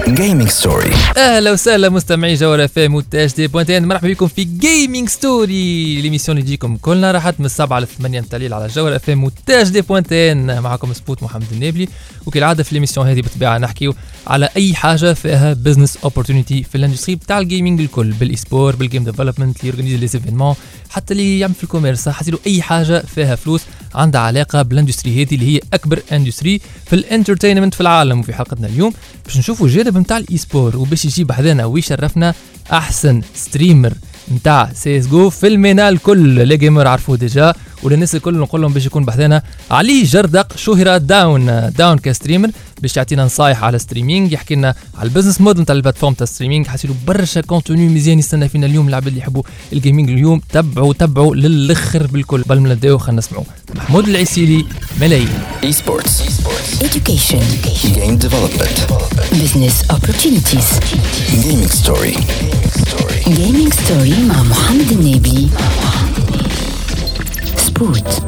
جيمنج ستوري. اهلا وسهلا مستمعي جوهر اف ام وتاج دي بوينتين، مرحبا بكم في جيمنج ستوري، ليميسيون اللي تجيكم كلنا راحت من 7 ل 8 نتاع الليل على جوهر اف ام وتاج دي بوينتين. معكم سبوت محمد النابلي، وكالعاده في ليميسيون هذه بالطبيعه نحكيو على اي حاجه فيها بزنس اوبورتونيتي في الاندستري بتاع الجيمنج الكل، بالايسبور، بالجيم ديفلوبمنت، اللي يورغنيزي لي زيفينمون، حتى اللي يعمل في الكوميرس، حاسيلو اي حاجه فيها فلوس عندها علاقه بالاندستري هذه اللي هي اكبر اندستري في الانترتينمنت في العالم. وفي حلقتنا اليوم باش نشوفوا جانب نتاع الايسبور، وباش يجيب حذانا ويشرفنا احسن ستريمر نتاع سي اس جو في الميناء الكل. لي جيمر عرفوه ديجا، وللناس الكل نقول لهم باش يكون بحذانا علي جردق شهرة داون كستريمر، باش يعطينا نصايح على ستريمينج، يحكي لنا على البزنس موديل نتاع البلاتفورم تاع ستريمينج. حاسيلو برشا كونتوني مزيان يستنى فينا اليوم. العباد اللي يحبوا الجيمنج اليوم تبعوا للاخر بالكل. قبل ما نبداو خلينا نسمعوا محمود العسيلي ملايين. اي سبورتس، education, جيم ديفلوبمنت، business opportunities, جيمنج ستوري. gaming story مع محمد النبي. سبوت.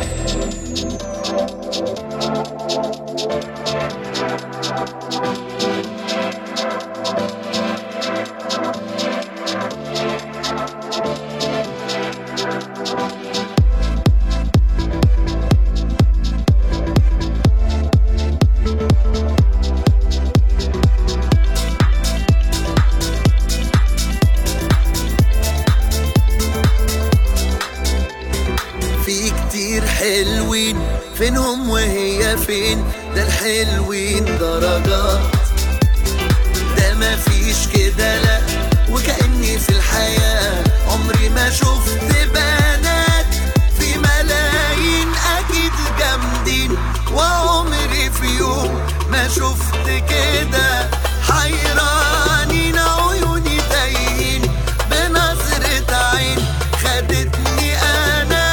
فينهم وهي فين؟ ده الحلوين درجات، ده ما فيش كده لا، وكأني في الحياة عمري ما شفت بنات في ملايين أكيد جامدين، وعمري في يوم ما شفت كده حيرانين، عيوني تايهين بنظرة عين خدتني أنا،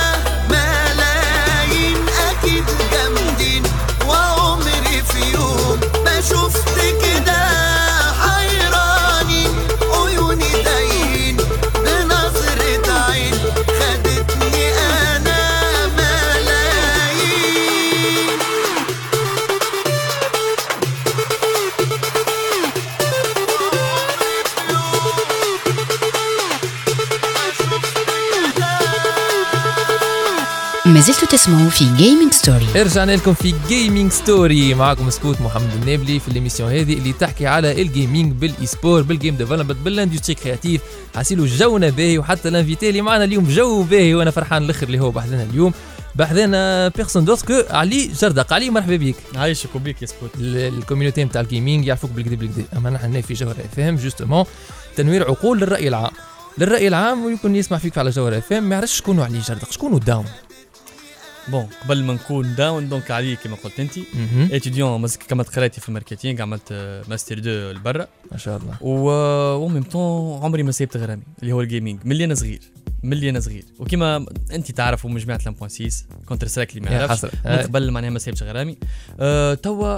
جامدين وعمري في يوم ما شفت كده حيراني، عيوني تايهين بنظرة عين خدتني أنا ملايين. ما زلتوا تسمعوا في جيمنج ستوري. رجعنا لكم في جيمنج ستوري، معكم سبوت محمد النابلي في الاميسيون هذه اللي تحكي على الجيمنج بالايسبور، بالجيم ديفلوبمنت، بالاندستري كرياتيف. حاسيلو جونا باهي، وحتى الانفيتي اللي معنا اليوم جو باهي، وانا فرحان الاخر اللي هو بحذنا اليوم. بحذنا بيرسون دوتر علي جردق. علي مرحبا بك. عايشك وبيك يا سبوت. الكوميونيتي نتاع الجيمنج يعرفوك بالكدا، اما نحن في جوهر اف ام جوستومون تنوير عقول للراي العام ويكون يسمع فيك على جوهر اف ام ما يعرفش شكونه علي جردق، شكونه داون. بون قبل ما نكون داون دونك علي كما قلت انت اتيديون مازال كما قريتي في الماركتينغ، عملت ماستر 2 لبرا ما شاء الله، و ميم طون عمري ما سيبت غرامي اللي هو الجيمنج ملي انا صغير وكما انت تعرفوا من جماعه لامبوانسيس كونتر سترايك اللي ما يعرفش من قبل معناها ما سيبتش غرامي. توا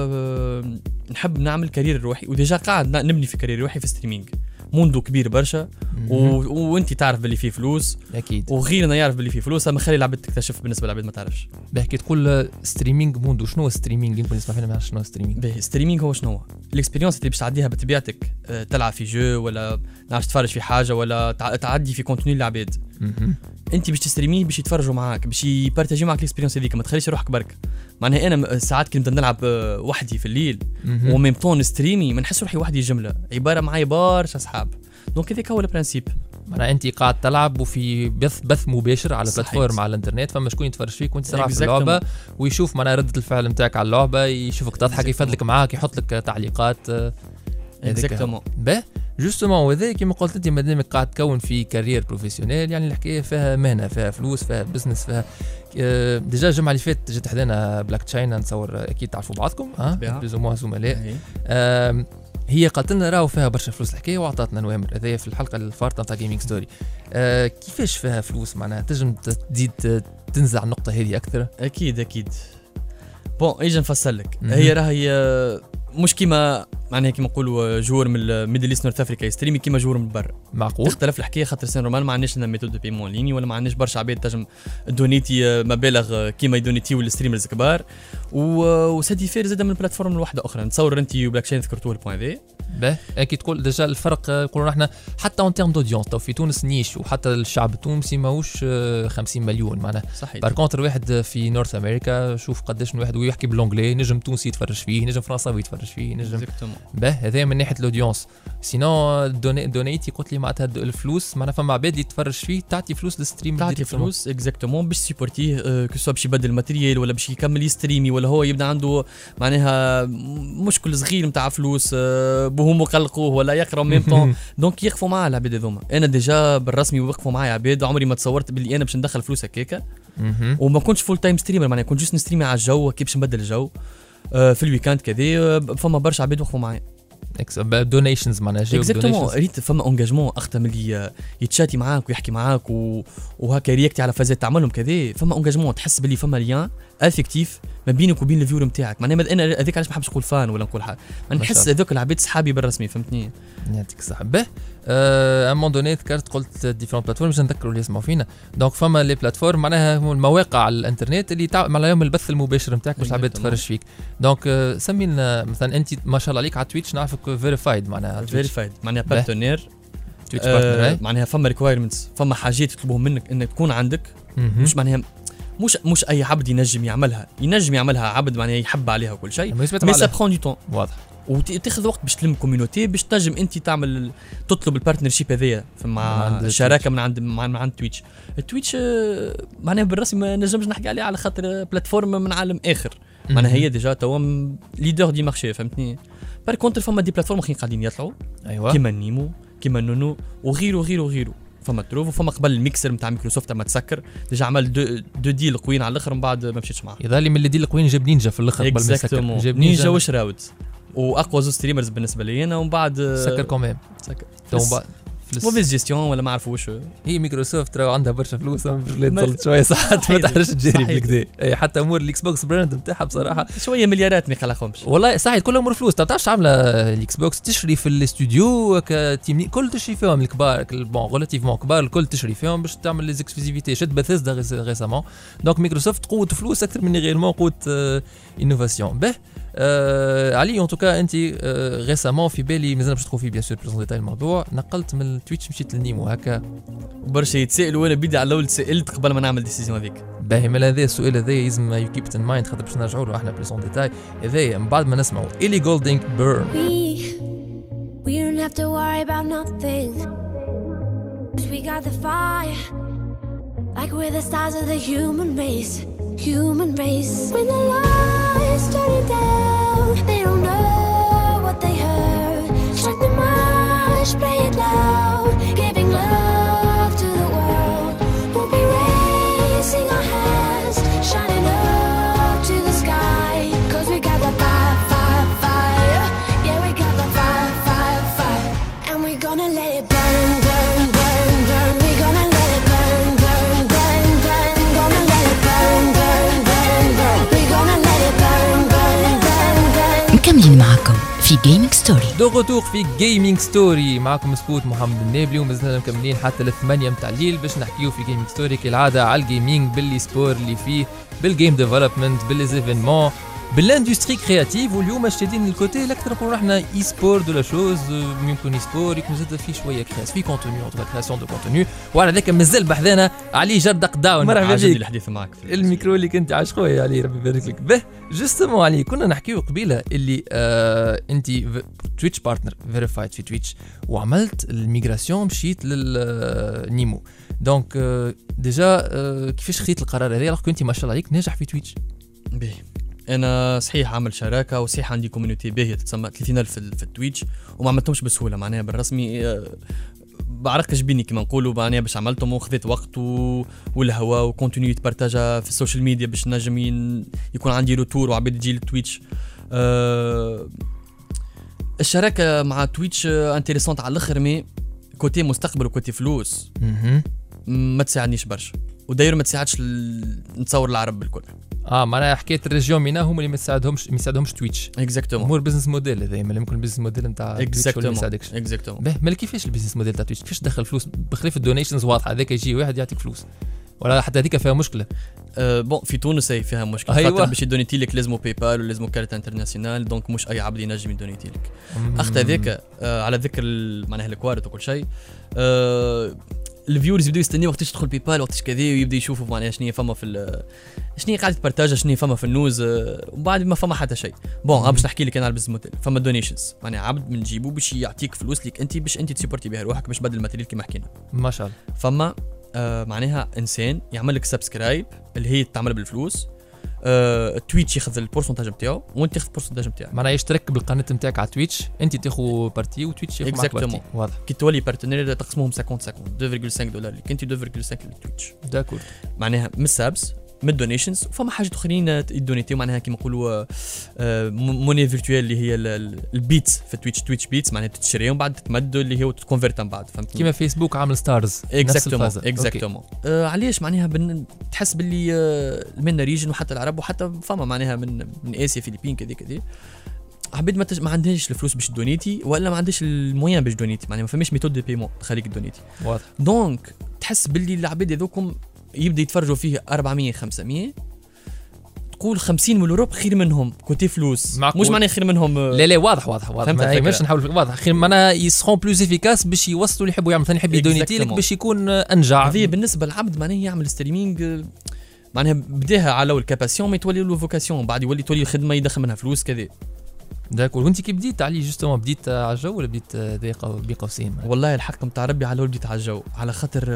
نحب نعمل كارير روحي، وديجا قاعد نبني في كارير روحي في ستريمينج. موندو كبير برشا وانت تعرف باللي فيه فلوس اكيد، وغيرنا يعرف باللي فيه فلوس، اما خلي العباد تكتشف بالنسبه للعباد ما تعرفش. بحكي تقول ستريمينج موندو، شنو هو ستريمينج؟ يمكن يسمع فينا ما يعرفش شنو ستريمينج. باهي ستريمينج هو شنو؟ الاكسبيريونس اللي باش تعديها بطبيعتك، تلعب في جو ولا نعرفش تتفرج في حاجه ولا تعدي في كونتوني للعباد. انت باش تستريمي باش يتفرجوا معاك، باش يبارتاجيو معاك الاكسبيريونس هذيك، ما تخليش روحك برك. معناها انا ساعات كنت نلعب وحدي في الليل وميم طون ستريمي ما نحس روحي وحدي جمله عباره معايا برشا اصحاب. دونك هذاك هو البرانسيب. معناها انت قاعد تلعب وفي بث مباشر على بلاتفورم على الانترنت، فما شكون يتفرج فيك وانت تلعب في اللعبه ويشوف معناها رده الفعل نتاعك على اللعبه، يشوفك تضحك، يفدلك معاك، يحط لك تعليقات. اكزاكتومون. به جوستومون، وهذا كما قلت انت مادامك قاعد تكون في كارير بروفيسيونيل، يعني الحكايه فيها مهنه، فيها فلوس، فيها بزنس، فيها ديجا الجمعه اللي فاتت جات حدانا بلاك تشاينا، نتصور اكيد تعرفوا بعضكم بلوزوموا زملاء. هي قالت لنا راهو فيها برشا فلوس الحكايه، وعطاتنا نوامر هذايا في الحلقه الفارطه تاع جيمنج ستوري. كيفاش فيها فلوس؟ معناها تنجم تزيد تنزع النقطه هذه اكثر؟ اكيد بون اجي نفصل لك. هي راهي مش كيما معناها كيما نقولوا جور من الميدل ايست نورث افريكا يستريمي كيما جور من برا. معقول. تختلف الحكايه خاطر سين رومان ما عندناش لنا ميثود دو بيمون ليني ولا ما عندناش برشا عباد تنجم دونيتي مبالغ كيما يدونيتيو الستريمرز كبار وسادي فير زاد من بلاتفورم لوحده اخرى. نتصور انت وبلاك شين ذكرتوه البوان ذا باهي. كي تقول ديجا الفرق نقولوا احنا حتى اون تيرم دودينس تو في تونس نيش وحتى الشعب التونسي ماهوش 50 مليون معناها. صحيح. بار كونتر واحد في نورث امريكا شوف قداش واحد ويحكي بالانجلي نجم تونسي يتفرج فيه نجم فرنساوي يتفرج فيه نجم باهي. هذا من ناحيه الاودينس. سينو دونيتي قلت لي معناتها الفلوس معناها فما عباد اللي تتفرج فيه تعطي فلوس للستريم تعطي فلوس اكزاكتومون باش سيبورتيه كسوا باش يبدل الماتريال ولا باش يكمل يستريمي ولا هو يبدا عنده معناها مشكل صغير نتاع فلوس بهم قلقوه ولا يقرا ميم طون دونك يقفوا معاه العباد هذوما. انا ديجا بالرسمي وقفوا معايا عباد عمري ما تصورت باللي انا باش ندخل فلوس هكاكا وما كنتش فول تايم ستريمر معناها كنت جوست نستريمي على الجو كي باش نبدل الجو في الويكاند كذا. فما برشا عباد وقفوا معايا دونيشنز معناها جاو اكزاكتومون. ريت فما انجاجمون اكثر من اللي يتشاتي معاك ويحكي معاك وهكا رياكتي على فازات تعملهم كذا. فما انجاجمون تحس باللي فما ليان افيكتيف ما بينك وبين الفيور نتاعك معناها. انا هذاك علاش ما نحبش نقول فان ولا نقول حاجه نحس هذوك العباد صحابي بالرسمي فهمتني. يعطيك الصحه. به امون دوني ذكرت قلت ديفرنت بلاتفورم باش نذكروا اللي يسمعوا فينا. دونك فما لي بلاتفورم معناها المواقع على الانترنت اللي معناها يوم البث المباشر نتاعك باش العباد تتفرج فيك. دونك سمي لنا مثلا انت ما شاء الله عليك على تويتش نعرفك فيريفايد معناها فيريفايد معناها بارتنير تويتش بارتنر معناها فما ريكوايرمنتس فما حاجات يطلبوهم منك انك تكون عندك مش معناها مش اي عبد ينجم يعملها عبد معناها يحب عليها وكل شيء مي سا برون دو طون واضح وتاخذ وقت باش تلم كوميونيتي باش تنجم انت تعمل تطلب البارتنرشيب هذيا مع شراكه من عند تويتش. التويتش معناها بالرسمي ما نجمش نحكي عليه على خاطر بلاتفورم من عالم اخر معناها هي ديجا توا ليدر دي مارشي فهمتني. بار كونتر فما دي بلاتفورم اخرين قاعدين يطلعوا ايوه كيما نيمو كيما نونو وغيره فما تروف وفما قبل الميكسر نتاع مايكروسوفت ما تسكر ديجا عمل دو ديل قويين على الاخر من بعد ما مشيتش معاه. يظهر لي من الديل القويين جاب نينجا في الاخر قبل ما يسكر. جاب نينجا وشراوت واقوى زوج ستريمرز بالنسبه لي انا ومن بعد سكر كوميم سكر موفيز جيستيون ولا ما عرفوش. هي مايكروسوفت راه عندها برشا فلوس تزلط شويه ساعات ما تحرش تجري بالكدا. اي حتى امور الاكس بوكس براند نتاعها بصراحه شويه مليارات ما يخلقهمش والله صحيح كل امور فلوس. تعرفش عامله الاكس بوكس تشري في الاستوديو كتيم كل تشري فيهم الكبار بون ريلاتيفمون كبار الكل تشري فيهم باش تعمل لي اكسكلوزيفيتي. شد بثيسدا ريسامون دونك مايكروسوفت قوه فلوس اكثر من غيرمون قوه انوفاسيون. به علي ان توكا انت ريسامون في بالي مازال باش تدخل فيه بيان سور بلوز ديتاي الموضوع نقلت من التويتش مشيت للنيمو هكا برشا يتسائلوا وانا بدي على الاول سالت قبل ما نعمل ديسيزيون هذيك. باهي من هذا السؤال هذا لازم يو كيب ات ان مايند خاطر باش نرجعوا له احنا بلوز ديتاي هذايا من بعد ما نسمعوا إلي جولدينغ بيرن. We don't have to worry about nothing. We got the fire, like we're the stars of the human race. When the lights turn down, they don't know what they heard. Strike the march, play it loud, giving love to the world. We'll be raising our hands, shining up to the sky. 'Cause we got the fire. Yeah, we got the fire. And we're gonna let it burn. We're gonna let it burn. Gonna let it burn. We're gonna let it burn. مكملين معكم في جيمنج ستوري. دو غوتور في جيمنج ستوري معكم سبوت محمد النابلي ومازلنا مكملين حتى ل8 متاع الليل باش نحكيو في جيمنج ستوري كالعاده على الجيمنج باللي سبور اللي فيه بالجيم ديفلوبمنت بالليزيفينمون بالاندستري كرياتيف. واليوم شادين الكوتي الاكثر نقولوا احنا اي سبور دو لا شوز ممكن اي سبور يكون زاد فيه شويه في كونتوني اون كرياسيون دو كونتوني وعلى ذاك مازال بحذانا علي جردق داون. مرحبا بك الحديث معك الميكرو اللي كنت عايش خويا علي ربي يبارك لك. به جوستومون علي كنا نحكيو قبيله اللي انت تويتش بارتنر فيريفايد في تويتش وعملت الميغراسيون مشيت للنيمو. دونك ديجا كيفاش خديت القرار هذا alors كنتي ما شاء الله عليك ناجح في تويتش؟ باهي انا صحيح عامل شراكه وصحيح عندي كوميونيتي باهيه تتسمى 30000 في التويتش وما عملتهمش بسهوله معناها بالرسمي بعرق جبيني كما نقولوا معناها باش عملتهم وخذيت وقت والهوا وكونتينيو تبارتاجا في السوشيال ميديا باش نجم يكون عندي روتور وعباد تجي للتويتش. الشراكه مع تويتش انتريسونت على الاخر مي كوتي مستقبل وكوتي فلوس ما تساعدنيش برشا وداير ما تساعدش نتصور العرب بالكل. معناها حكايه الريجيون مينا هم اللي ما يساعدهمش تويتش. اكزاكتومون. امور بزنس موديل هذا ما يمكن البزنس موديل نتاع تويتش ولا ما يساعدكش. اكزاكتومون. باهي مال كيفاش البيزنس موديل تاع تويتش كيفاش تدخل فلوس بخلاف الدونيشنز واضحه هذاك يجي واحد يعطيك فلوس ولا حتى هذيك فيها مشكله. بون في تونس هي فيها مشكله أيوة. خاطر باش يدونيتي لك لازم باي بال ولازم كارت انترناسيونال دونك مش اي عبد ينجم يدونيتي لك. اخت هذاك على ذكر معناها الكوارت وكل شيء الفيورز يبداو يستنيو وقتاش تدخل باي بال وقتاش كذا ويبدا يشوفوا معناها شنو فما في شنو قاعد تبارطاجا شنو فما في النوز وبعد ما فما حتى شيء. بون باش نحكي لك انا على البزنس موديل فما دونيشنز معناها عبد من جيبو باش يعطيك فلوس ليك انت باش انت تسيبورتي بها روحك باش بدل الماتيريال كيما حكينا ما شاء الله. فما معناها انسان يعمل لك سبسكرايب اللي هي تعمل بالفلوس تويتش ياخذ البورسنتاج نتاعو وانت تاخذ البورسنتاج نتاعك معناها يشترك بالقناه نتاعك على تويتش انت تاخذ بارتي وتويتش ياخذ معك بارتي. واضح. كي تولي بارتنير تقسمهم 50 $2.5 ليك انت 2.5 للتويتش. داكور. معناها من السابس من الدونيشنز وفما حاجات اخرين يدونيتيو معناها كيما نقولوا موني فيرتوال اللي هي البيتس في تويتش بيتس معناها تشريهم بعد تمد اللي هو تكونفيرت من بعد فهمتني كيما فيسبوك عامل ستارز. اكزاكتومون علاش معناها تحس باللي من ريجن وحتى العرب وحتى فما معناها من اسيا فيلبين كذا حبيت ما عندهاش الفلوس باش دونيتي ولا ما عندهاش الموين باش دونيتي معناها ما فماش ميثود دو بيمون تخليك دونيتي. واضح. دونك تحس باللي العباد هذوكم يبدا يتفرجوا فيه 400 500 تقول 50 يورو خير منهم كوتي فلوس معقول. مش معناه خير منهم لا واضح ما يمش نحاول واضح خير معناها يسخون بلوز افيكاس باش يوصلوا اللي يحبوا يعمل ثاني يحب يدونيتي لك باش يكون انجع. هذه بالنسبه للعبد معناه يعمل ستريمينغ معناها بداها على الكاباسيون ما تولي له فوكاسيون بعد يولي تولي خدمه يدخل منها فلوس كذا. داكور. وانت كي بديت علي جوستومون بديت على الجو ولا بديت بقوسين؟ والله الحق نتاع ربي على بديت على الجو على خاطر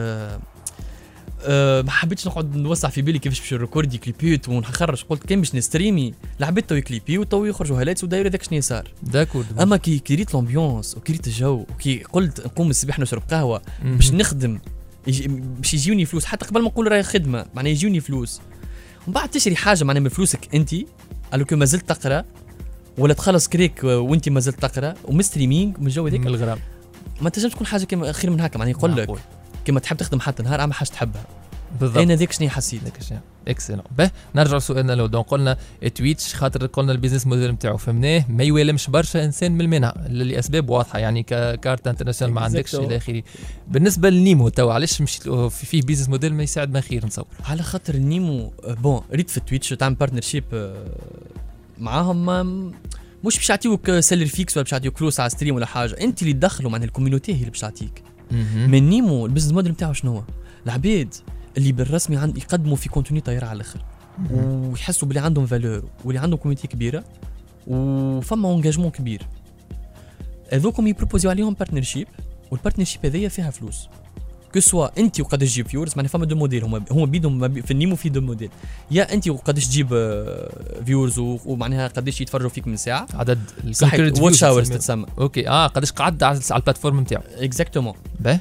ما حبيتش نقعد نوسع في بالي كيفاش باش نريكوردي كليبيوت ونخرج قلت كان باش نستريمي لعبت تو كليبي وتو يخرجوا هالات وداير هذاك شنو صار. داكور. اما كي ريت لامبيونس وكي ريت الجو وكي قلت نقوم الصباح نشرب قهوه باش نخدم باش يجيوني فلوس حتى قبل ما نقول راهي خدمه معناها يجيوني فلوس ومن بعد تشري حاجه معناها من فلوسك انت الوكو ما زلت تقرا ولا تخلص كريك وانت ما زلت تقرا ومستريمينغ من الجو هذاك من الغرام ما تنجمش تكون حاجه كيما خير من هكا معناها يقول لك كيما تحب تخدم حتى نهار اما حاجه تحبها بالضبط. انا ذاك شنو حسيت اكسلون. به نرجع لسؤالنا لو دونك قلنا تويتش خاطر قلنا البيزنس موديل نتاعو فهمناه ما يوالمش برشا انسان من المنع لاسباب واضحه يعني ككارت انترناسيونال ما عندكش الى اخره. بالنسبه للنيمو تو علاش مشيت فيه بيزنس موديل ما يساعد ما خير نصور على خاطر النيمو بون ريت في تويتش تعمل بارتنرشيب معاهم مش باش يعطيوك سيلر فيكس ولا باش يعطيوك فلوس على ستريم ولا حاجه انت اللي تدخلوا مع الكوميونيتي هي اللي باش تعطيك. من نيمو البيزنس موديل نتاعو شنو هو العباد اللي بالرسمي يقدموا في كونتوني طاير على الاخر ويحسوا بلي عندهم فالور واللي عندهم كوميونيتي كبيره وفما اونجاجمون كبير هذوكم يبروبوزيو عليهم بارتنرشيب والبارتنرشيب هذيا فيها فلوس كو سوا انت وقداش تجيب فيورز معناها فما دو موديل هما بيدهم في النيمو في دو موديل يا انت وقداش تجيب فيورز ومعناها قداش يتفرجوا فيك من ساعه عدد واتش اورز تتسمى اوكي قداش قعد على البلاتفورم نتاعو اكزاكتومون به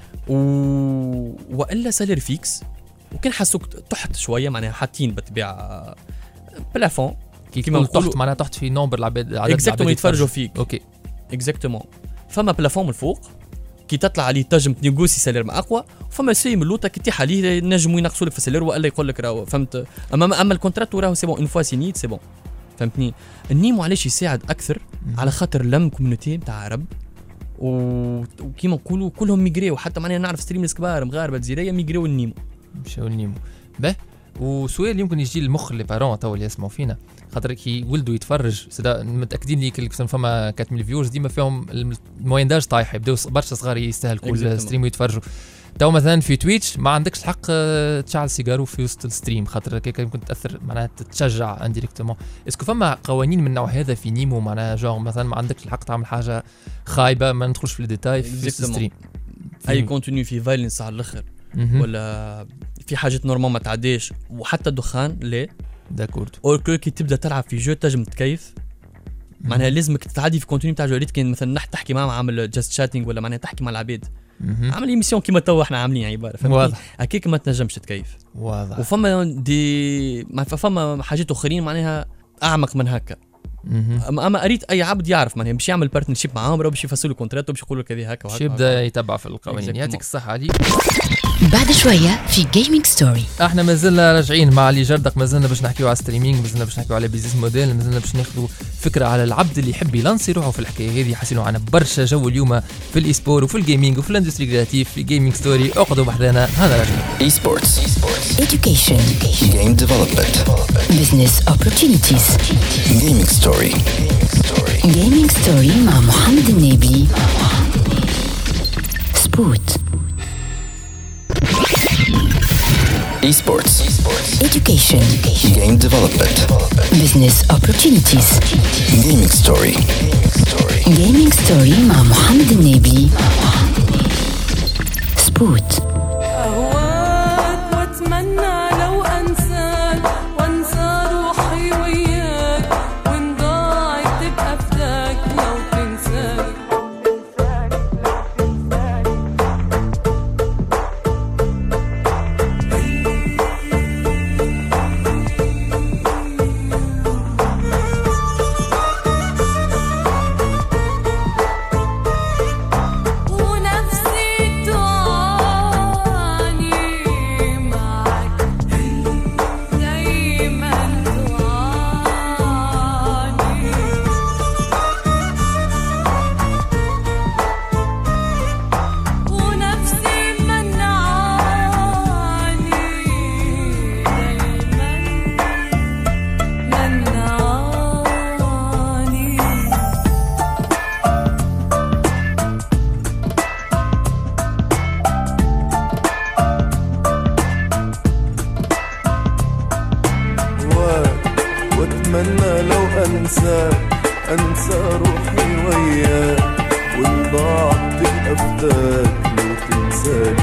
والا سالير فيكس وكان حسوك تحت شويه معناها حاطين بالطبيعه بلافون كيما تحت معناها تحت في نومبر العباد عدد اكزاكتومون يتفرجوا فيك اوكي اكزاكتومون فما بلافون من الفوق كي تطلع عليه تنجم تنيغوسي سالير ما اقوى وفما سي من اللوطه كي تيح عليه نجموا ينقصوا لك في السالير والا يقول لك راهو فهمت اما الكونترات راهو سي بون اون فوا سينيت سي بون فهمتني. النيمو علاش يساعد اكثر على خاطر لم كوميونيتي نتاع عرب وكيما نقولوا كلهم ميغريو حتى معناها نعرف ستريمرز كبار مغاربه جزائريه ميغريو النيمو مشاو النيمو به. وسؤال يمكن يجي للمخ لي بارون تو اللي يسمعوا فينا خاطر كي ولدوا يتفرج متاكدين لي كل فما 4000 فيورز ديما فيهم الموين داج طايح يبداو برشا صغار يستهلكوا الستريم ويتفرجوا تو مثلا في تويتش ما عندكش الحق تشعل سيجارو في وسط الستريم خاطر هكاك يمكن تاثر معناها تتشجع انديريكتومون. اسكو فما قوانين من النوع هذا في نيمو معناها جون مثلا ما عندكش الحق تعمل حاجه خايبه ما ندخلش في الديتاي في الستريم اي كونتوني في فايلنس على الاخر ولا في حاجات نورمال ما تعديش وحتى الدخان لا داكورد او كي تبدا تلعب في جو تنجم تكيف معناها لازمك تعدي في كونتوني تاع جوريت كان مثلا تحكي معهم عامل جاست شاتينج ولا معناها تحكي مع العباد عامل ايميسيون كيما تو احنا عاملين عباره فهمتني هكاك ما تنجمش تكيف واضح. وفما فما حاجات اخرين معناها اعمق من هكا اما اريد اي عبد يعرف معناها باش يعمل بارتنرشيب معاهم باش يفصلوا كونترات وباش يقولوا كذا هكا باش يبدا يتبع في القوانين. يعطيك الصحه علي. بعد شوية في جيمنج ستوري. احنا مازلنا راجعين مع علي جردق، مازلنا باش نحكيو على ستريمينج، مازلنا باش نحكيو على بيزنس موديل، مازلنا باش ناخذوا فكره على العبد اللي يحب يلانسي روحه في الحكايه هذه. حاسينوا عنا برشا جو اليوم في الاي سبور وفي الجيمنج وفي الاندستري كرياتيف في جيمنج ستوري. اقعدوا بحذانا هذا راجعين. اي سبورتس Education. جيم ديفلوبمنت Business opportunities. جيمنج ستوري Gaming Story مع محمد النبي. سبوت. اي سبورتس Education. جيم ديفلوبمنت Business opportunities. جيمنج ستوري Gaming Story مع محمد النبي. سبوت. أهواك وأتمنى لو أنساك وأنسى روحي وياك وإن ضاعت تبقى فداك لو تنساك. ونفسي تعاني معك دايما تعاني. ونفسي منعاني دايما منعاني. واتمنى لو انسى روحي وياك وان ضاعت تبقى فداك لو تنساني.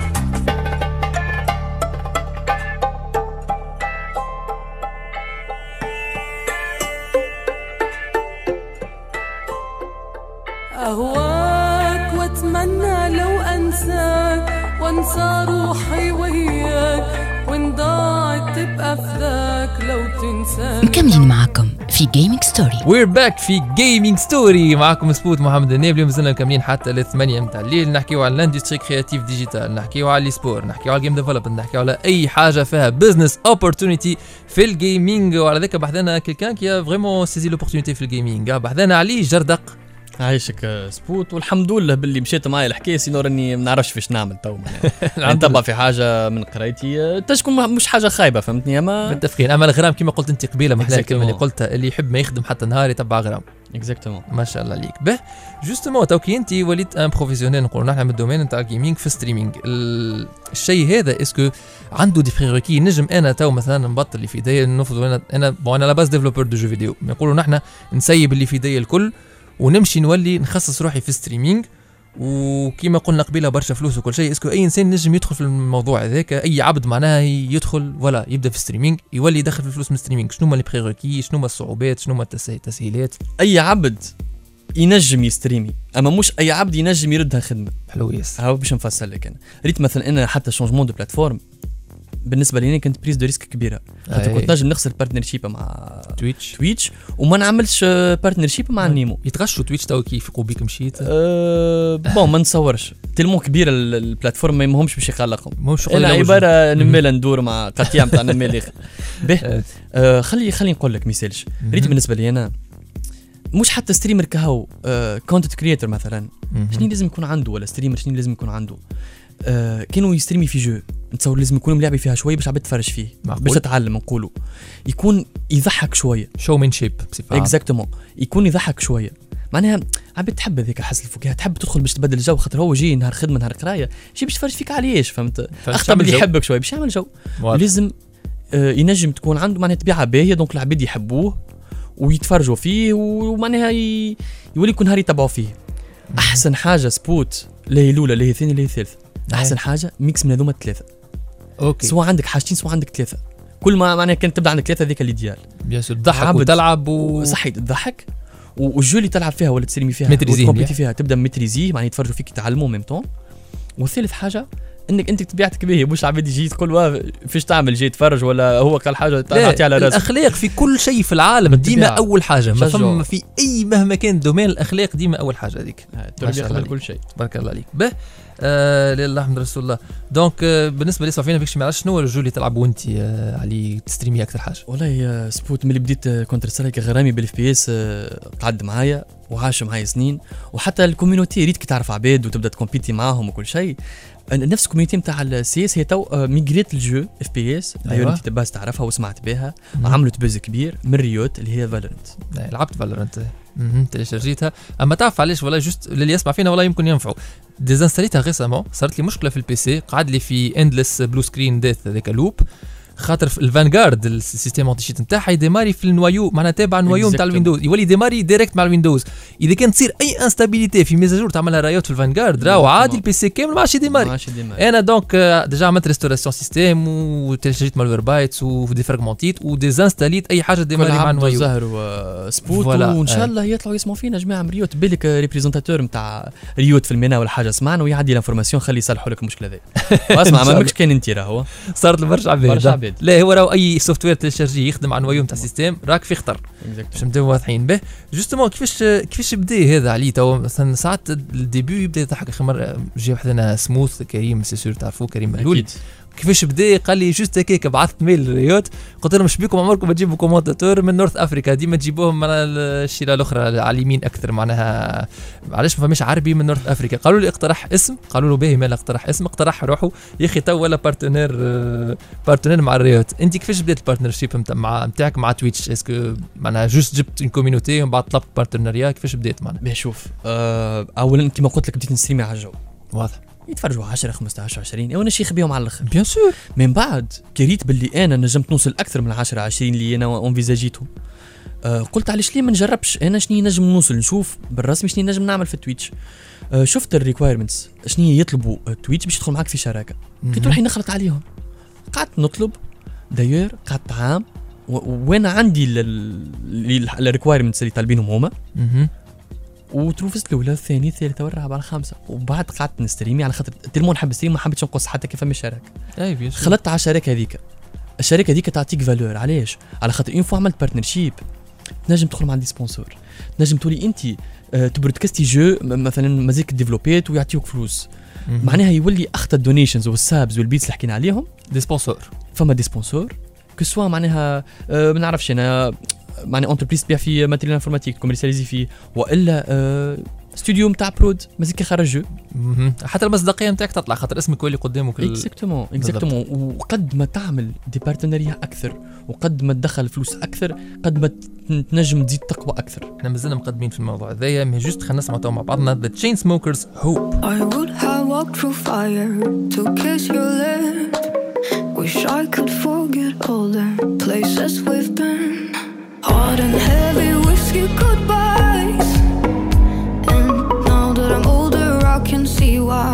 أهواك وأتمنى لو أنساك وأنسى روحي وياك وإن ضاعت تبقى فداك لو تنساني. مكملين معكم في جيمنج ستوري. وير باك في جيمنج ستوري معكم سبوت محمد النبلي. مازلنا مكملين حتى ل 8 متاع الليل. نحكيو على الاندستري كرياتيف ديجيتال، نحكيو على الاي سبور، نحكيو على الجيم ديفلوبمنت، نحكيو على اي حاجه فيها بزنس اوبورتونيتي في الجيمنج. وعلى ذاك بحثنا كيلكان كي فريمون سيزي لوبورتونيتي في الجيمنج. بحثنا علي جردق. عايشك سبوت والحمد لله باللي مشيت معايا الحكايه سينو راني ما نعرفش فاش نعمل تو نتبع في حاجه من قرايتي تشكون مش حاجه خايبه فهمتني. اما متفقين. اما الغرام كما قلت انت قبيله محلى الكلمه اللي Exactement. قلتها اللي يحب ما يخدم حتى نهار يتبع غرام. اكزاكتومون. ما شاء الله عليك. به جوستومون تو كي انت وليت ان بروفيسيونيل نقولوا نحن من الدومين نتاع الجيمنج في ستريمينج، الشيء هذا اسكو عنده دي بريروكي؟ نجم انا تو مثلا نبطل اللي في يدي نفرض انا لا باز ديفلوبر دو جو فيديو نقولوا نحن نسيب اللي في يدي الكل ونمشي نولي نخصص روحي في ستريمينج وكيما قلنا قبيله برشا فلوس وكل شيء. اسكو اي انسان نجم يدخل في الموضوع هذاك؟ اي عبد معناها يدخل ولا يبدا في ستريمينج يولي يدخل في الفلوس من ستريمينج؟ شنو هما لي بريروكي؟ شنو هما الصعوبات؟ شنو هما التسهيلات؟ اي عبد ينجم يستريمي اما مش اي عبد ينجم يردها خدمه. حلو يس. هاو باش نفصل لك انا ريت مثلا انا حتى شونجمون دو بلاتفورم بالنسبه لي كانت بريز دو ريسك كبيره خاطر كنت نجم نخسر بارتنرشيب مع تويتش وما نعملش بارتنرشيب مع نيمو. يتغشوا تويتش تو كيف يقوا بيك مشيت بون ما نتصورش تلمو كبيره البلاتفورم ما يهمهمش باش يخلقهم. ماهوش انا عباره نميل ندور مع قطيع نتاع نميل به خلي نقول لك مثالش ريت بالنسبه لي انا مش حتى ستريمر كهو كونتنت كرييتور مثلا شنو لازم يكون عنده ولا ستريمر شنو لازم يكون عنده كانوا يستريمي في جو نتصور لازم يكون ملاعبي فيها شويه باش عبد تفرج فيه باش تتعلم نقولوا يكون يضحك شويه شو من شيب اكزاكتومون يكون يضحك شويه معناها عبد تحب هذيك حس الفكاهه تحب تدخل باش تبدل الجو خاطر هو جاي نهار خدمه نهار قرايه جاي باش تفرج فيك عليش فهمت اختار اللي يحبك شويه باش يعمل جو لازم ينجم تكون عنده معناها طبيعه باهيه دونك العباد يحبوه ويتفرجوا فيه ومعناها يولي يكون نهار يتبعوا فيه. احسن حاجه سبوت لا هي الاولى لا هي الثانيه لا هي الثالثه احسن حاجه ميكس من هذوما الثلاثه. اوكي سواء عندك حاجتين سواء عندك ثلاثه كل ما معناها كانت تبدا عندك ثلاثه هذيك الايديال بيان سور تضحك وتلعب صحيح تضحك والجو اللي تلعب فيها ولا تسلمي فيها وتكومبيتي فيها تبدا متريزيه معناها يتفرجوا فيك يتعلموا ميم طون. والثالث حاجه انك انت طبيعتك باهي، مش عباد يجي تقول واه فيش تعمل جاي تفرج ولا هو قال حاجه تعطي على راسك. الاخلاق في كل شيء في العالم ديما اول حاجه، ما شجع. فما في اي مهما كان دومين الاخلاق ديما اول حاجه هذيك. التربيه قبل كل شيء. بارك الله عليك. به لله الحمد رسول الله. دونك بالنسبه لي صافينا فيكش معرفش شنو الجو اللي تلعبوا انت علي تستريمي اكثر حاجه. والله سبوت ملي بديت كونتر سترايك غرامي بالاف بي اس قعد معايا وعاش معايا سنين، وحتى الكوميونيتي ريتك تعرف عباد وتبدا تكومبيتي معاهم وكل شيء. نفس الكوميونيتي نتاع السي اس هي تو ميغريت الجو اف بي اس. أيوة. انت باز تعرفها وسمعت بها، عملت بوز كبير من ريوت اللي هي فالورنت. لعبت فالورنت تلشرجيتها، اما تعرف علاش والله جوست اللي يسمع فينا والله يمكن ينفعوا. ديزانستاليتها ريسامون، صارت لي مشكله في البي سي، قعد لي في اندلس بلو سكرين ديث هذاك لوب، خاطر في الفانغارد السيستم اونتي شيت نتاعها يديماري في النوايو، معناها تابع النوايو نتاع الويندوز، يولي ديماري ديريكت مع الويندوز. اذا كان تصير اي انستابيليتي في ميزاجور تعملها رايوت في الفانغارد راهو عادي البي سي كامل ما عادش يديماري. انا دونك ديجا عملت ريستوراسيون سيستم وتلشريت مالوير بايتس وديفراغمونتيت وديزانستاليت اي حاجه ديماري مع النوايو. زهر وسبوت وان شاء الله يطلعوا يسمعوا فينا جماعه من ريوت، بالك ريبريزونتاتور نتاع ريوت في المينا ولا حاجه سمعنا ويعدي الانفورماسيون خلي يصلحوا لك المشكله هذه. واسمع ما ماكش كان انت راهو صارت لبرشا عباد. لا هو راهو اي سوفت وير تلشرجي يخدم على النوايو نتاع السيستم راك في خطر باش نبداو واضحين به. جوستومون كيفاش بدا هذا عليه تو مثلا ساعات الديبيو يبدا يضحك. اخر مره جا وحدنا سموث كريم سي سور تعرفوه كريم مهلول كيفاش بدا قال لي جوست هكاك بعثت ميل للريوت قلت لهم شبيكم عمركم ما تجيبوا كومونتاتور من نورث افريكا ديما تجيبوهم من الشيله الاخرى على اليمين اكثر معناها علاش ما فماش عربي من نورث افريكا. قالوا لي اقترح اسم قالوا له باهي مال اقترح اسم اقترح روحوا يا اخي تو ولا بارتنير مع الريوت. انت كيفاش بدات البارتنرشيب نتاعك مع تويتش اسكو معناها جوست جبت اون كوميونيتي ومن بعد طلبت بارتنريا كيفاش بدات معناها؟ شوف اولا كيما قلت لك بديت نستريمي على الجو واضح يتفرجوا 10 15 20 وانا شيخ بيهم على الاخر بيان سور. من بعد كريت باللي انا نجمت نوصل اكثر من 10 20 اللي انا اونفيزاجيتهم. قلت علاش ليه ما نجربش انا شنو نجم نوصل نشوف بالرسمي شنو نجم نعمل في تويتش. شفت الريكوايرمنتس شنو يطلبوا تويتش باش يدخل معك في شراكه كنت راح نخلط عليهم قعدت نطلب داير قعدت عام وانا عندي الريكوايرمنتس اللي طالبينهم هما وتروفست الاولى الثاني الثالثه والرابعه الخامسه وبعد قعدت نستريمي على خاطر تلمون نحب نستريم ما حبيتش نقص حتى كيف فما شراكه. اي خلطت على الشراكه هذيك. الشركه هذيك تعطيك فالور علاش على خاطر اون فوا عملت بارتنرشيب تنجم تدخل مع عندي سبونسور تنجم تولي انت تبرودكاستي جو مثلا مازيك ديفلوبيت ويعطيوك فلوس معناها يولي اخطا الدونيشنز والسابز والبيتس اللي حكينا عليهم دي سبونسور. فما دي سبونسور كسوا معناها ما نعرفش انا معناها انتربريز تبيع في ماتيريال انفورماتيك كوميرسياليزي فيه والا استوديو نتاع برود مازيك خرج جو حتى المصداقيه نتاعك تطلع خاطر اسمك يولي قدامك. اكزاكتومون وقد ما تعمل دي بارتنريا اكثر وقد ما تدخل فلوس اكثر قد ما تنجم تزيد تقوى اكثر. احنا مازلنا مقدمين في الموضوع هذايا مي جوست خلينا نسمعوا مع بعضنا The Chainsmokers Hope. I would have walked through fire to kiss your lips. Wish I could forget all the places we've been. Hard and heavy whiskey goodbyes. And now that I'm older I can see why.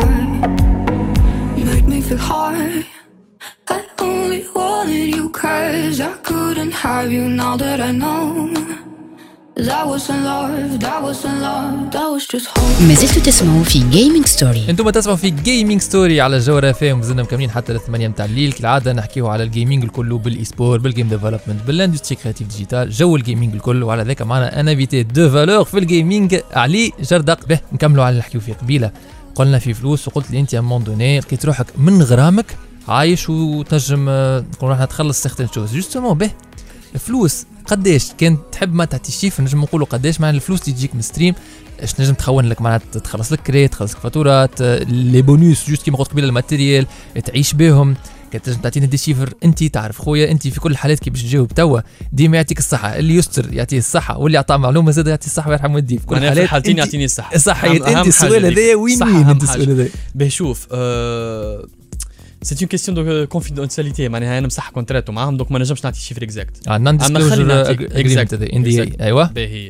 Made me feel high. I only wanted you 'cause I couldn't have you now that I know. That wasn't love, that wasn't love, that was just hope. ما زلتوا تسمعوا في جيمنج ستوري. انتم تسمعوا في جيمنج ستوري على الجوهرة FM ومازلنا مكملين حتى 8 متاع الليل كالعاده نحكيو على الجيمنج الكل بالاي سبور بالجيم ديفلوبمنت بالاندستري كرياتيف ديجيتال جو الجيمنج الكل وعلى ذاك معنا ان انفيتي دو فالور في الجيمنج علي جردق. به نكملوا على اللي نحكيو فيه قبيله قلنا في فلوس وقلت لي انت ا مون دوني لقيت روحك من غرامك عايش وتنجم نقولوا راح تخلص سيغتين شوز جوستومون. به فلوس قداش كان تحب ما تعطي شيف نجم نقولوا قداش مع الفلوس اللي تجيك من ستريم اش نجم تخون لك معناتها تخلص لك كريت تخلص لك فاتورات لي بونوس جوست كيما قلت قبيله الماتيريال تعيش بهم كي تنجم تعطينا دي شيفر انت تعرف خويا انت في كل الحالات كي باش تجاوب توا ديما يعطيك الصحه اللي يستر يعطيه الصحه واللي يعطى معلومه زاد يعطي الصحه ويرحم والديه في كل الحالات حالتين يعطيني الصحه صح انت السؤال هذا وين انت السؤال هذا. به شوف سي اون كيستيون دو كونفيدونسياليتي معناها انا مسح كونتراتو معاهم دونك ما نجمش نعطي شيفر اكزاكت نون ديسكلوجر اجريمنت ان دي اي. ايوه باهي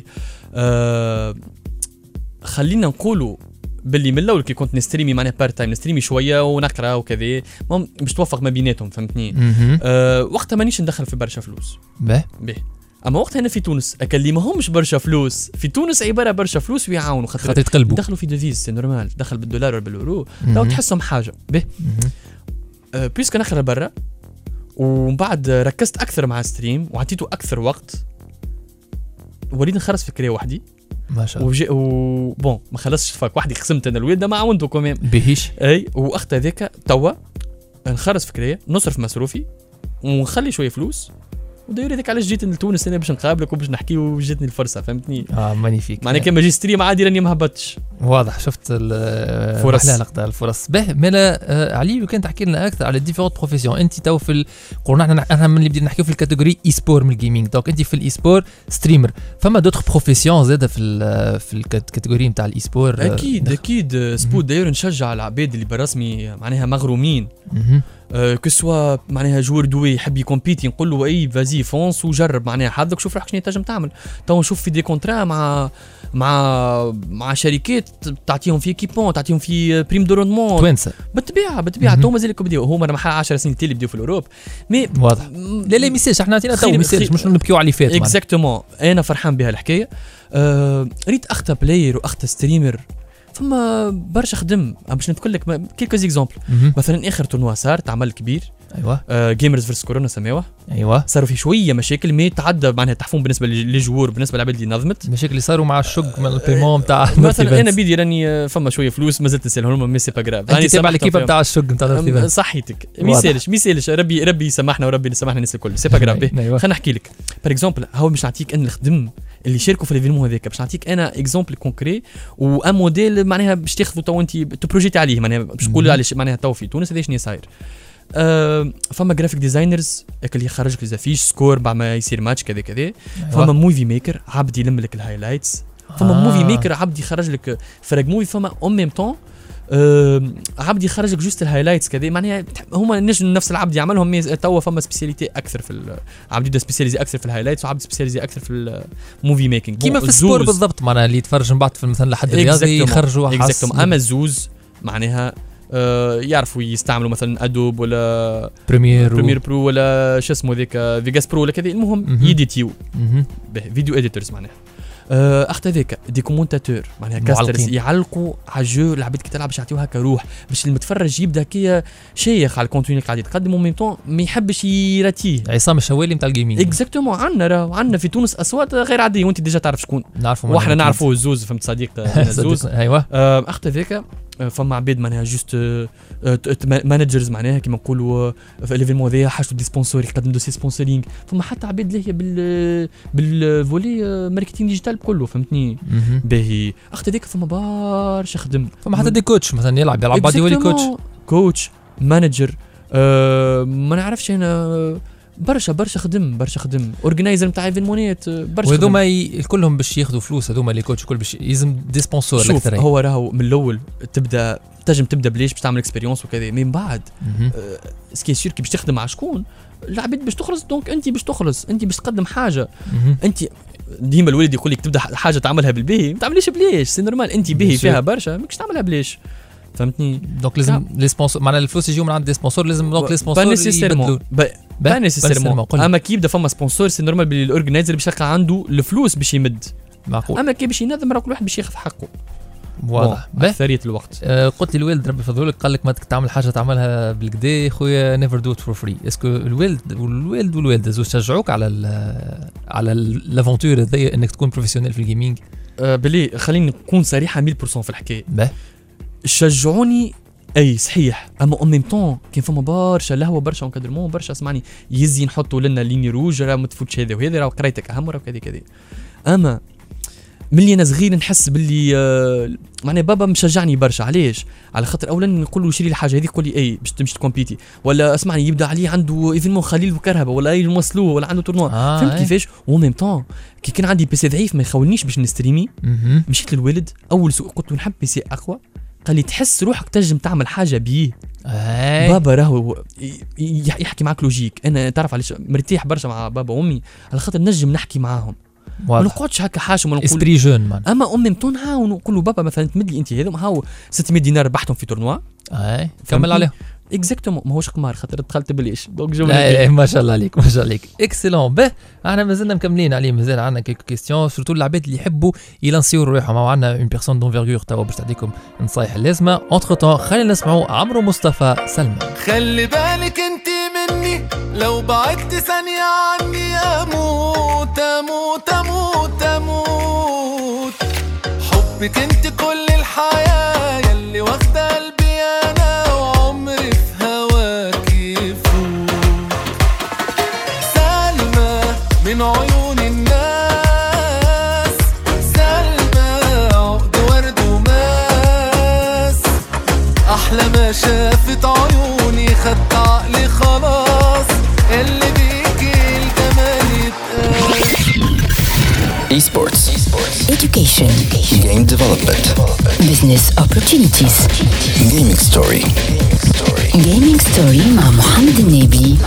خلينا نقولوا باللي من الاول كي كنت نستريمي معناها بارت تايم نستريمي شويه ونقرا وكذا باش توفق ما بيناتهم فهمتني. وقتها مانيش ندخل في برشا فلوس به اما وقتها هنا في تونس اللي ما همش برشا فلوس في تونس عباره برشا فلوس ويعاونوا خاطر يتقلبوا دخلوا في ديفيز سي نورمال دخل بالدولار ولا بالاورو لو تحسهم حاجه به بيسك نخرج برا ومن بعد ركزت اكثر مع ستريم وعطيته اكثر وقت وليد نخرج فكريه وحدي ما شاء الله بون ما خلصش فاك وحدي قسمت انا الويد ما عاونته كمان بهيش اي واخت هذاك توا نخرج فكريه نصرف مصروفي ونخلي شويه فلوس وداير هذاك علاش جيت لتونس انا باش نقابلك وباش نحكي وجاتني الفرصه فهمتني مانيفيك معناها كان ماجستيريا عادي راني ما هبطتش واضح شفت الفرص الفرص به ملا علي كان تحكي لنا اكثر على ديفيرونت بروفيسيون انت تو في قلنا احنا من اللي بدينا نحكيو في الكاتيجوري اي سبور من الجيمنج دونك انت في الاي سبور ستريمر فما دوتر بروفيسيون زاده في الكاتيجوري نتاع الاي سبور اكيد سبوت داير نشجع العباد اللي بالرسمي معناها مغرومين كسوا معناها جور دوي يحب يكومبيتي نقول له اي فازي فونس وجرب معناها حظك شوف روحك شنو تنجم تعمل تو نشوف في دي كونترا مع شركات تعطيهم في كيبون تعطيهم في بريم دوروندمون توانسه بالطبيعه تو مازالك بديو هما راه 10 سنين اللي بديو في الاوروب مي واضح لا ميساج احنا عطينا تو ميساج مش نبكيو على اللي فات اكزاكتومون انا فرحان بها الحكايه ريت اختا بلاير واختا ستريمر فما برشا خدم باش نذكر لك كيلكو اكزامبل مثلا اخر تورنوا صار تعمل كبير ايوه جيمرز فيرس كورونا سماوه ايوه صاروا في شويه مشاكل مي تعدى معناها تحفون بالنسبه للجوار بالنسبه للعباد اللي نظمت المشاكل اللي صاروا مع الشق من البيمون نتاع مثلا انا بيدي راني فما شويه فلوس مازلت نسالهم مي سي با غراف راني تابع الكيبه نتاع الشق نتاع صحيتك ميسالش ربي يسامحنا وربي يسامحنا الناس الكل سي با غراف خلينا نحكي لك بار اكزومبل هاو باش نعطيك انا الخدم اللي شاركوا في الايفينمون هذاك باش نعطيك انا اكزومبل كونكري وان موديل معناها باش تاخذوا تو انت تبروجيتي عليه معناها باش تقول على معناها تو في تونس هذا شنو صاير فما جرافيك ديزاينرز اللي يخرج لك زافيش سكور بعد ما يصير ماتش كذا كذا فما موفي ميكر عبد يلم لك الهايلايتس فما موفي ميكر عبد يخرج لك فرق موفي فما اون ميم طون عبد يخرج لك جوست الهايلايتس كذا معناها هما نفس العبد يعملهم توا فما سبيسياليتي اكثر في عبد يبدا سبيسياليزي اكثر في الهايلايتس وعبد سبيسياليزي اكثر في الموفي ميكينج كيما في السبور بالضبط معناها اللي يتفرج من بعد في مثلا لحد الرياضي يخرجوا اكزاكتوم اما الزوز معناها يعرفوا يستعملوا مثلا ادوب ولا بريمير برو ولا شو اسمه ذيك فيجاس برو ولا كذا المهم يديتيو فيديو اديتورز معناها اخت هذاك دي كومونتاتور معناها كاسترز يعلقوا على الجو العباد كي تلعب باش يعطيوها هكا روح باش المتفرج يبدا كي شيخ على الكونتوني اللي قاعد يتقدم وميم طون ما يحبش يراتيه عصام الشوالي نتاع الجيمنج اكزاكتومون عندنا في تونس اصوات غير عاديه وانت ديجا تعرف شكون نعرفوا واحنا نعرفوه الزوز فهمت صديق الزوز ايوه اخت هذاك فما عباد معناها جوست مانجرز معناها كيما نقولوا في الايفينمون هذايا حاجتو دي سبونسور يقدم دوسي سبونسورينغ فما حتى عباد اللي هي بالفولي ماركتينغ ديجيتال كله فهمتني باهي اخت هذيك فما برشا خدم فما حتى دي كوتش مثلا يلعب بعد يولي كوتش مانجر ما نعرفش انا برشا خدم اورجنايزر نتاع ايفينمونات برشا وهذوما كلهم باش ياخذوا فلوس هذوما لي كوتش كل باش يلزم دي سبونسور اكثر هو راهو من الاول تبدا بليش باش تعمل اكسبيريونس وكذا من بعد سكي سير كي باش تخدم مع شكون العباد باش تخلص دونك انت باش تخلص انت باش تقدم حاجه انت ديما الوالد يقول لك تبدا حاجه تعملها بالباهي ما تعمليش بليش سي نورمال انت باهي فيها برشا ماكش تعملها بليش فهمتني دونك لازم لي سبونسور معناها الفلوس يجيو من عند دي سبونسور لازم دونك لي سبونسور يبدلوا با نيسيسيرمون اما كي يبدا فما سبونسور سي نورمال بلي الاورجنايزر باش يلقى عنده الفلوس باش يمد معقول اما كي باش ينظم راه كل واحد باش ياخذ حقه واضح اكثريه الوقت قلت لي الوالد ربي يفضلك قال لك ما تعمل حاجه تعملها بالكدا خويا نيفر دو ات فور فري اسكو الوالد والوالده زوج شجعوك على لافونتور هذيا انك تكون بروفيسيونيل في الجيمنج بلي خليني نكون صريحه 100% في الحكايه شجعوني اي صحيح اما ان ميم طون كان فما برشا لهوه برشا انكادرمون برشا اسمعني يزي نحطوا لنا ليني روج راه ما تفوتش هذا وهذا راه قرايتك اهم راه كذا اما ملي انا صغير نحس باللي معناها بابا مشجعني برشا علاش على خاطر اولا نقول له شري لي حاجه هذيك يقول لي اي باش تمشي تكومبيتي ولا اسمعني يبدا عليه عنده ايفينمون خليل وكرهبه ولا يموصلوه ولا عنده تورنوا فهمت كيفاش و ميم طون كي كان عندي بيسي ضعيف ما يخولنيش باش نستريمي مشيت للوالد اول سوق قلت له نحب بيسي اقوى قال لي تحس روحك تنجم تعمل حاجه بيه بابا راهو يحكي معك لوجيك انا تعرف علاش مرتاح برشا مع بابا وامي على خاطر نجم نحكي معاهم ما نقعدش هكا حاشم ونقول اسبري جون مان اما امي متون هاو نقول له بابا مثلا تمد لي انت هذوم هاو 600 دينار ربحتهم في تورنوا كمل عليهم اكزاكتومون ماهوش قمار خاطر دخلت بليش دونك لا ما شاء الله عليك ما شاء الله عليك اكسلون. به احنا مازلنا مكملين عليه مازال عندنا كيلكو كيستيون سورتو العباد اللي يحبوا يلانسيو روحهم او عندنا اون بيرسون دونفيرغور توا باش تعطيكم نصايح اللازمه. اونتر طون خلينا نسمعوا عمرو مصطفى سلمان. خلي بالك انت مني لو بعدت ثانية عني اموت اموت اموت اموت. حبك انت كل الحياة يلي واخدة قلبي انا وعمري في هواك يفوت. سلمى من عيون الناس سلمى عقد ورد وماس. احلى ما شافت عيوني خدت عقلي خلاص اللي بيجي الجمال يتقال. Esports. Education. Game development. Business opportunities. Gaming story. Gaming story مع محمد النبي.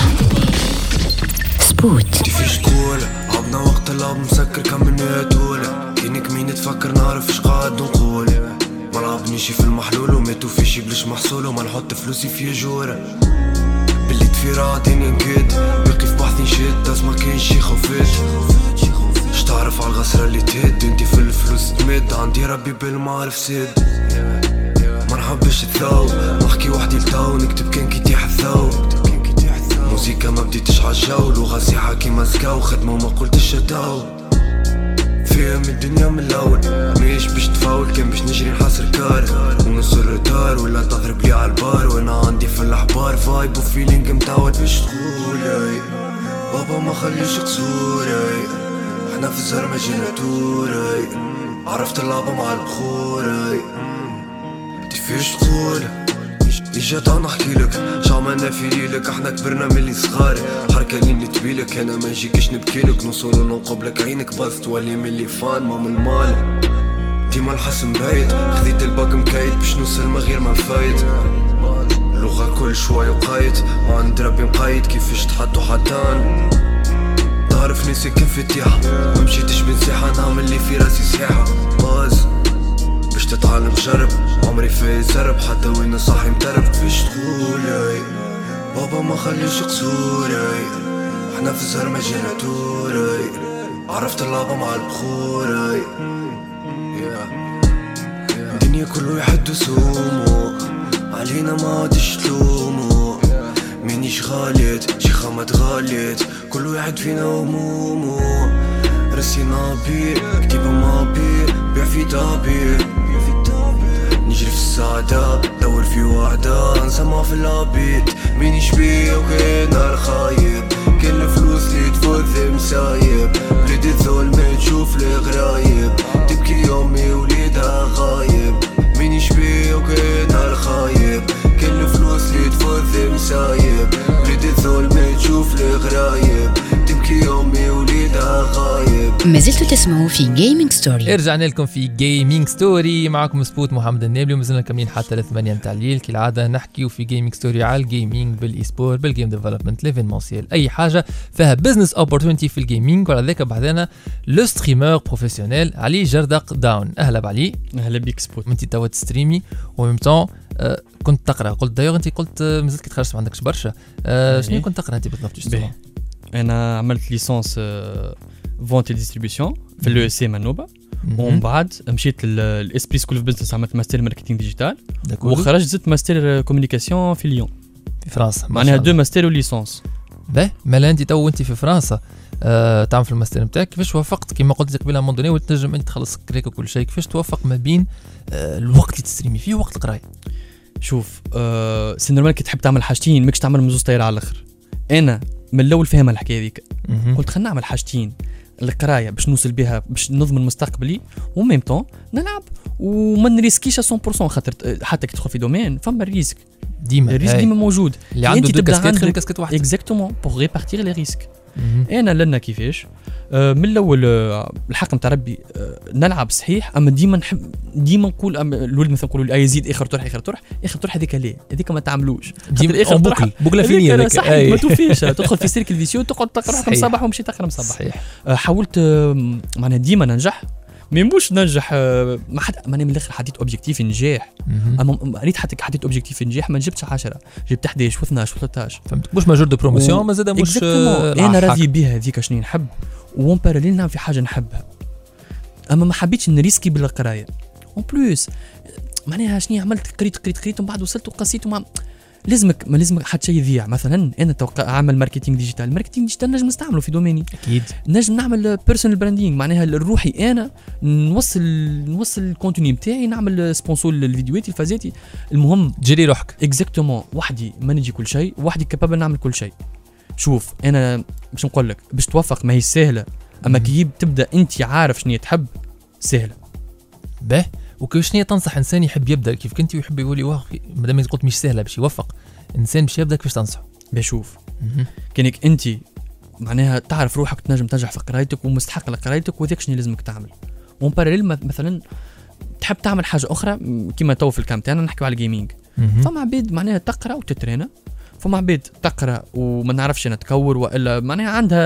سبوت. كيفاش تقول عبنا وقت اللعب مسكر كملنا طولة كينك مين تفكر نعرف اش قاعد نقول. ما لعبنيش في المحلول وماتوا فيشي بلاش محصول وما نحط فلوسي في جورة. باللي تفير عادين نكد باقي في بحثي نشد اسمع كاين شي خوفات. اش تعرف على الغسرة اللي تهد انتي في الفلوس تمد عندي ربي بالمعرف سد. ما نحبش الثاو نحكي وحدي لتاو نكتب كان كي تيح الثاو. موسيقى ما بديتش عالجو لغة سيحة كيما زكاو خدمة وما قلتش اتاو. فيها من الدنيا من الاول ماهيش باش تفاول كان باش نجري نحصر كار ونص الرتار ولا تضرب لي عالبار وانا عندي في الاحبار فايب وفيلينج متعود باش تقول بابا ما خليش قصور احنا في الزرمة جينا توري عرفت اللعبة مع البخور كيفاش تقول اجا تعال نحكيلك شعملنا في ليلك احنا كبرنا ملي صغار حركة اللي نتبيلك انا ما نجيكش نبكيلك نوصل ونقبلك عينك بس تولي ملي فان ما من المال ديما الحسن بايت خذيت الباك مكايد باش نوصل ما غير ما نفايت لغة كل شوية وقايت ما عند ربي مقايد كيفاش تحطو حتان تعرف نسي كيف فتيحة ما مشيتش بنسيحة نعمل لي في راسي سياحة باز باش تتعلم جرب عمري في زرب حتى وين صاحي مترب كيفاش تقول بابا ما خليش قصور احنا في الزهر ما جينا توري عرفت اللعبة مع البخور الدنيا كله يحدو سومو علينا ما عادش تلومو مانيش غاليت شيخة ما تغاليت كله يحد فينا همومو رسينا بيه كتيبة ما بيه بيع في دابيه نجري في السعادة دور في وعدة نسمع في العبيد مانيش بيه وكاين نهار خايب كل الفلوس اللي تفوت مسايب بلاد الظلم تشوف لي غرايب تبكي يومي وليدها غايب مانيش بيه وكاين نهار خايب كل الفلوس اللي تفوت مسايب بلاد الظلم تشوف لي غرايب تبكي يومي وليدها غايب. ما زلتوا تسمعوا في جيمنج ستوري. رجعنا لكم في جيمنج ستوري معكم سبوت محمد النابلي ومازلنا كاملين حتى 8 متاع الليل كالعاده نحكيو في جيمنج ستوري على الجيمنج بالاي سبور بالجيم ديفلوبمنت ليفينمونسيال اي حاجه فيها بزنس اوبورتونيتي في الجيمنج. وعلى ذاك بعدنا لو ستريمر بروفيسيونيل علي جردق داون. اهلا بعلي. اهلا بيك سبوت. انت توا تستريمي وميم طون كنت تقرا قلت دايوغ انت قلت مازلت كي تخرجت ما عندكش برشا شنو كنت تقرا انت بالضبط جوستومون؟ انا عملت ليسونس فونت ديستريبيوشن في اليو اس سي منوبه ومن بعد مشيت للاسبري سكول اوف بزنس عملت ماستر ماركتينغ ديجيتال وخرجت زدت ماستر كومونيكاسيون في ليون في فرنسا معناها دو ماستر وليسونس. باهي مالا انت تو انت في فرنسا تعمل في الماستر نتاعك كيفاش وافقت كما قلت لك قبل مون دوني وتنجم انت تخلص كريك وكل شيء كيفاش توفق ما بين الوقت اللي تستريمي فيه ووقت القرايه؟ شوف سي نورمال كي تحب تعمل حاجتين ماكش تعمل مزوز طايره على الاخر. انا من الاول فاهم الحكايه هذيك قلت خلينا نعمل حاجتين القرايه باش نوصل بها باش نضمن مستقبلي وميم طون نلعب وما نريسكيش 100% خاطر حتى كي تدخل في دومين فما الريسك ديما الريسك ديما موجود اللي عنده دو كاسكيت خلي كاسكيت واحده اكزاكتومون بور ريبارتير لي ريسك. انا لنا كيفاش من الاول الحق نتاع ربي نلعب صحيح اما ديما نحب ديما نقول الولد مثلا نقولوا لي يزيد اخر طرح هذيك ليه هذيك ما تعملوش ديما اخر طرح بوكلا فيني هذيك ما توفيش تدخل في سيركل فيسيو تقعد تقرا صباح ومشي تقرا صباح. حاولت معناها ديما ننجح مي مش ننجح ما حد ماني من الاخر حديت اوبجيكتيف نجاح. اما ريت حديت اوبجيكتيف نجاح ما جبتش 10 جبت 11 و12 و13 فهمت مش ماجور دو بروموسيون ما زاد مش انا راضي بها هذيك شنو نحب وون باراليل نعمل في حاجه نحبها. اما ما حبيتش نريسكي بالقرايه اون بلوس معناها شنو عملت قريت ومن بعد وصلت وقسيت وما لازمك حتى شيء يضيع. مثلا انا اعمل ماركتينغ ديجيتال نجم نستعمله في دوميني اكيد نجم نعمل بيرسونال براندينغ معناها لروحي انا نوصل الكونتوني نتاعي نعمل سبونسور للفيديوهات الفازاتي. المهم جري روحك اكزاكتومون وحدي ما نجي كل شيء وحدي كابابل نعمل كل شيء. شوف انا باش نقول لك باش توفق ما هي سهله اما كي تبدا انت عارف شنو تحب سهله به. وكيف شنو تنصح انسان يحب يبدا كيف كنتي ويحب يقول لي واه مادام قلت مش سهله باش يوفق انسان باش يبدا كيفاش تنصحه؟ بشوف كانك انت معناها تعرف روحك تنجم تنجح في قرايتك ومستحق لقرايتك وذاك شنو لازمك تعمل. ومن باراليل مثلا تحب تعمل حاجه اخرى كيما تو في الكام تاعنا نحكيو على الجيمنج. فما عباد معناها تقرا وتترينا فما عباد تقرا وما نعرفش انا تكور والا معناها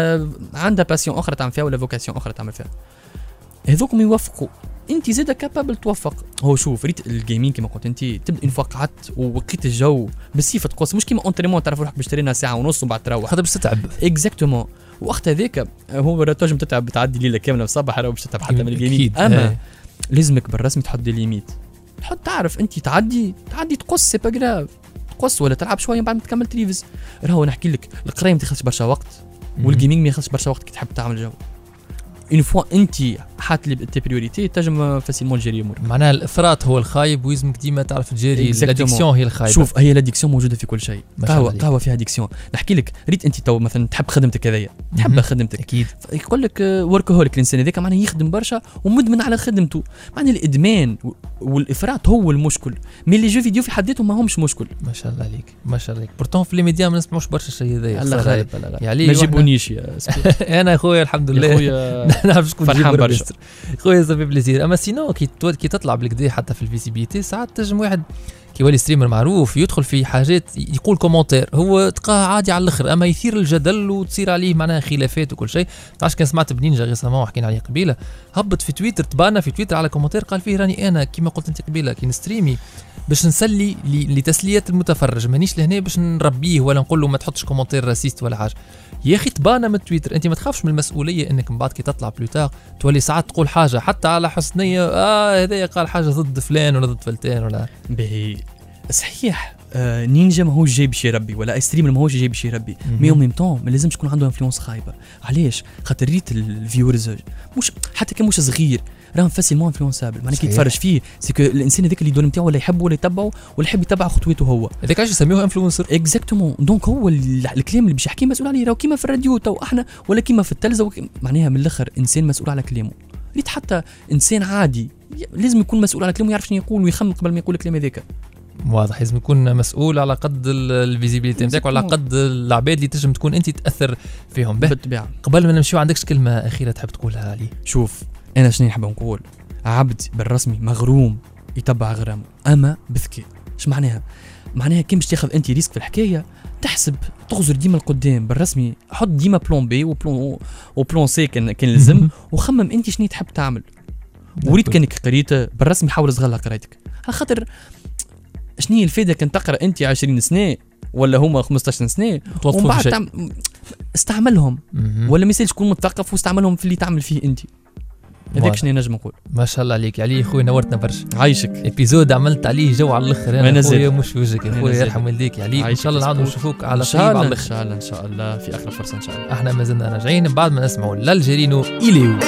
عندها باسيون اخرى تعمل فيها ولا فوكاسيون اخرى تعمل فيها. هذوكم يوفقوا انت زاده كابابل توفق. هو شوف ريت الجيمنج كما قلت انت تبدا ان قعدت ووقيت الجو بالصفه تقص مش كيما اونتريمون تعرف روحك باش ترينا ساعه ونص وبعد تروح هذا باش تتعب اكزاكتومون. وقت هذاك هو تنجم تتعب بتعدي ليله كامله الصباح راه باش تتعب حتى من الجيمنج. اما لازمك بالرسمي تحط دي ليميت تحط تعرف انت تعدي تقص سي با غراف تقص ولا تلعب شويه بعد ما تكمل تريفز. راهو نحكي لك القرايه ما تاخذش برشا وقت والجيمنج ما ياخذش برشا وقت كي تحب تعمل جو. اون فوا انت حاط لي تي بريوريتي تنجم فاسيلمون تجري امورك. معناها الافراط هو الخايب ويزمك ديما تعرف تجري. الاديكسيون هي الخايبه. شوف هي الاديكسيون موجوده في كل شيء. قهوه فيها اديكسيون. نحكي لك ريت انت تو مثلا تحب خدمتك هذيا تحب خدمتك اكيد يقول لك وركهوليك الانسان هذاك معناه يخدم برشا ومدمن على خدمته. معناه الادمان والافراط هو المشكل مي لي جو فيديو في حد ذاتهم ما همش مشكل. ما شاء الله عليك ما شاء الله عليك. بورتون في لي ميديا ما نسمعوش برشا الشيء هذايا. الله خير يعني ما جيبونيش يا انا اخويا الحمد لله خويا نعرف شكون فرحان برشا خويا صافي بليزير. اما سينو كي تطلع بالكدا حتى في الفيزيبيليتي ساعات تنجم واحد كي يولي ستريمر معروف يدخل في حاجات يقول كومنتير هو تلقاه عادي على الاخر اما يثير الجدل وتصير عليه معناها خلافات وكل شيء. تعرف كان سمعت بنينجا ريسامون وحكينا عليه قبيله هبط في تويتر تبانا في تويتر على كومنتير قال فيه راني انا كيما قلت انت قبيله كي نستريمي باش نسلي لتسليه المتفرج مانيش لهنا باش نربيه ولا نقول له ما تحطش كومنتير راسيست ولا حاجه. يا اخي تبانا من تويتر انت ما تخافش من المسؤوليه انك من بعد كي تطلع بلوتار تولي ساعات تقول حاجه حتى على حسنيه هذا قال حاجه ضد فلان ولا ضد فلتان ولا باهي صحيح. نينجا ما هوش جاي باش يربي ولا ستريمر ما هوش جاي باش يربي مي اون ميم طون ما لازمش يكون عنده انفلونس خايبه. علاش خاطر ريت الفيورز مش حتى كان مش صغير راهم فاسيلمون انفلونسابل. معناها كي يتفرج فيه سيكو الانسان هذاك اللي يدور نتاعو ولا يحبه ولا يتبعه ولا يحب يتبع خطوته هو هذاك علاش يسميوه انفلونسر. اكزاكتومون دونك هو الكلام اللي باش يحكي مسؤول عليه راهو كيما في الراديو تو احنا ولا كيما في التلفزه معناها من الاخر انسان مسؤول على كلامه. ريت حتى انسان عادي لازم يكون مسؤول على كلامه يعرف شنو يقول ويخمم قبل ما يقول الكلام هذاك. واضح لازم يكون مسؤول على قد الفيزيبيليتي نتاعك وعلى قد العباد اللي تنجم تكون انت تاثر فيهم به. بالطبيعه قبل ما نمشيو عندكش كلمه اخيره تحب تقولها علي؟ شوف انا شنو نحب نقول عبد بالرسمي مغروم يتبع غرامه اما بذكاء. اش معناها كي باش تاخذ انت ريسك في الحكايه تحسب تغزر ديما القدام بالرسمي حط ديما بلون بي وبلون سي كان لازم وخمم انت شنو تحب تعمل. وريت كانك قريت بالرسمي حاول تغلق قرايتك على خاطر شنو الفائده كان تقرا انت 20 سنه ولا هما 15 سنه ومن بعد استعملهم ولا ما يسالش تكون مثقف واستعملهم في اللي تعمل فيه انت. هذاك شنو نجم نقول. ما شاء الله عليك علي خويا نورتنا برشا. عايشك ابيزود عملت عليه جو على الاخر انا خويا مش في وجهك يا خويا يرحم والديك علي. ان شاء الله نعاودوا نشوفوك على خير على الاخر ان شاء الله في اخر فرصه ان شاء الله. احنا ما زلنا راجعين بعد ما نسمعوا لالجيرينو إليو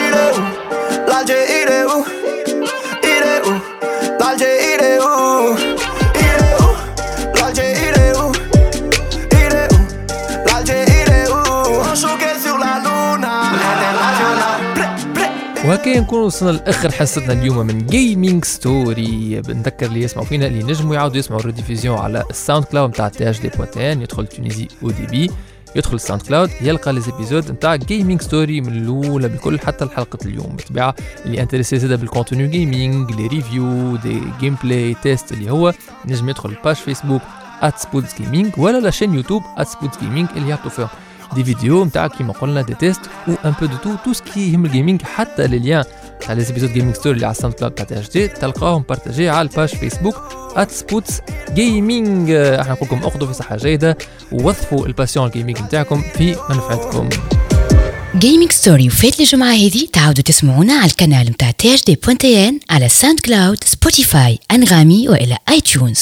وهكا نكون وصلنا لاخر حصتنا اليوم من جيمنج ستوري. بنذكر اللي يسمعوا فينا اللي نجموا يعاودوا يسمعوا الريديفيزيون على الساوند كلاود نتاع THD.1. يدخل تونيزي او دي بي يدخل الساوند كلاود يلقى لي زيبيزود نتاع جيمنج ستوري من الاولى بالكل حتى الحلقه اليوم. بالطبيعه اللي انتريسي زاده بالكونتوني جيمنج لي ريفيو دي جيم بلاي تيست اللي هو نجم يدخل الباج فيسبوك @SpotsGaming ولا لا شين يوتيوب @SpotsGaming اللي يعطوا فيهم دي فيديو نتاع كيما قلنا دي تيست و ان بو دو تو سكي يهم الجيمنج حتى لي ليان تاع لي زيبيزود جيمنج ستوري اللي على الساوند كلاود تاع تي اش دي تلقاهم بارتاجي على الباج فيسبوك @spootsgaming. احنا نقول لكم اخذوا في صحه جيده ووظفوا الباسيون جيمنج نتاعكم في منفعتكم. جيمنج ستوري وفات الجمعة هذه تعاودوا تسمعونا على القناة متاع THD.1 على ساوند كلاود، سبوتيفاي، أنغامي وإلى iTunes.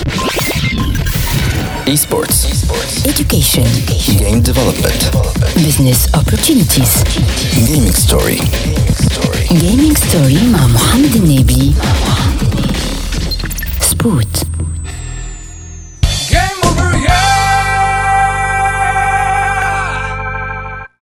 Esports. Education. Game development. Business opportunities. Gaming story. Gaming story مع محمد النبي. سبوت.